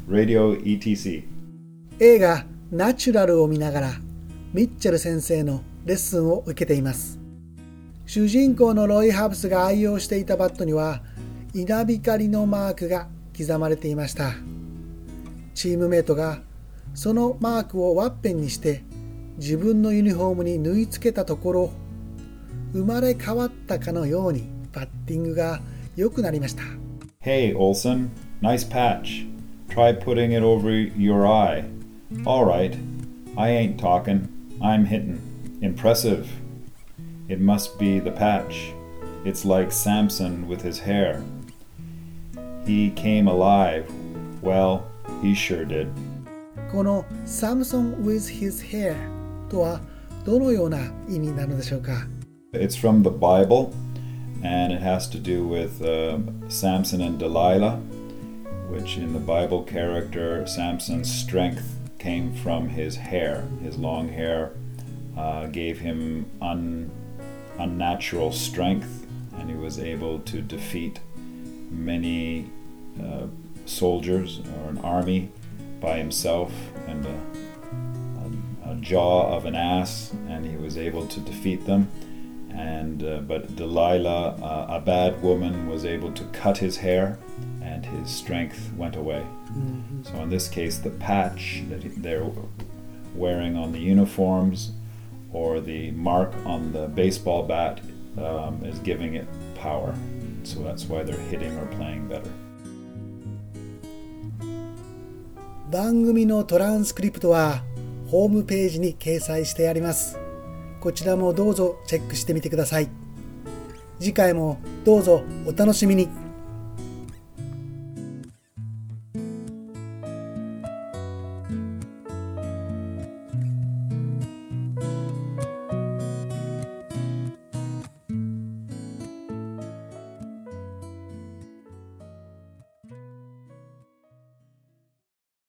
Radio ETC。 映画ナチュラルを見ながらミッチェル先生のレッスンを受けています。主人公のロイ・ハブスが愛用していたバットには稲光のマークが刻まれていました。チームメイトがそのマークをワッペンにして自分のユニフォームに縫い付けたところ、生まれ変わったかのようにバッティングが良くなりました。 Hey, Olsen, nice patch. Try putting it over your eye. All right. I ain't talking. I'm hitting. Impressive. It must be the patch. It's like Samson with his hair. He came alive. Well, he sure did. この Samson with his hair とはどのような意味なのでしょうか。 It's from the Bible, and it has to do with Samson and Delilah, which in the Bible character, Samson's strength came from his hair. His long hair gave him unnatural strength, and he was able to defeat many soldiers or an army by himself and a jaw of an ass, and he was able to defeat them. But Delilah, a bad woman, was able to cut his hair, and his strength went away. Mm-hmm. So in this case, the patch that they're wearing on the uniforms or the mark on the baseball bat is giving it power. So that's why they're hitting or playing better. 番組のトランスクリプトはホームページに掲載してあります。こちらもどうぞチェックしてみてください。次回もどうぞお楽しみに。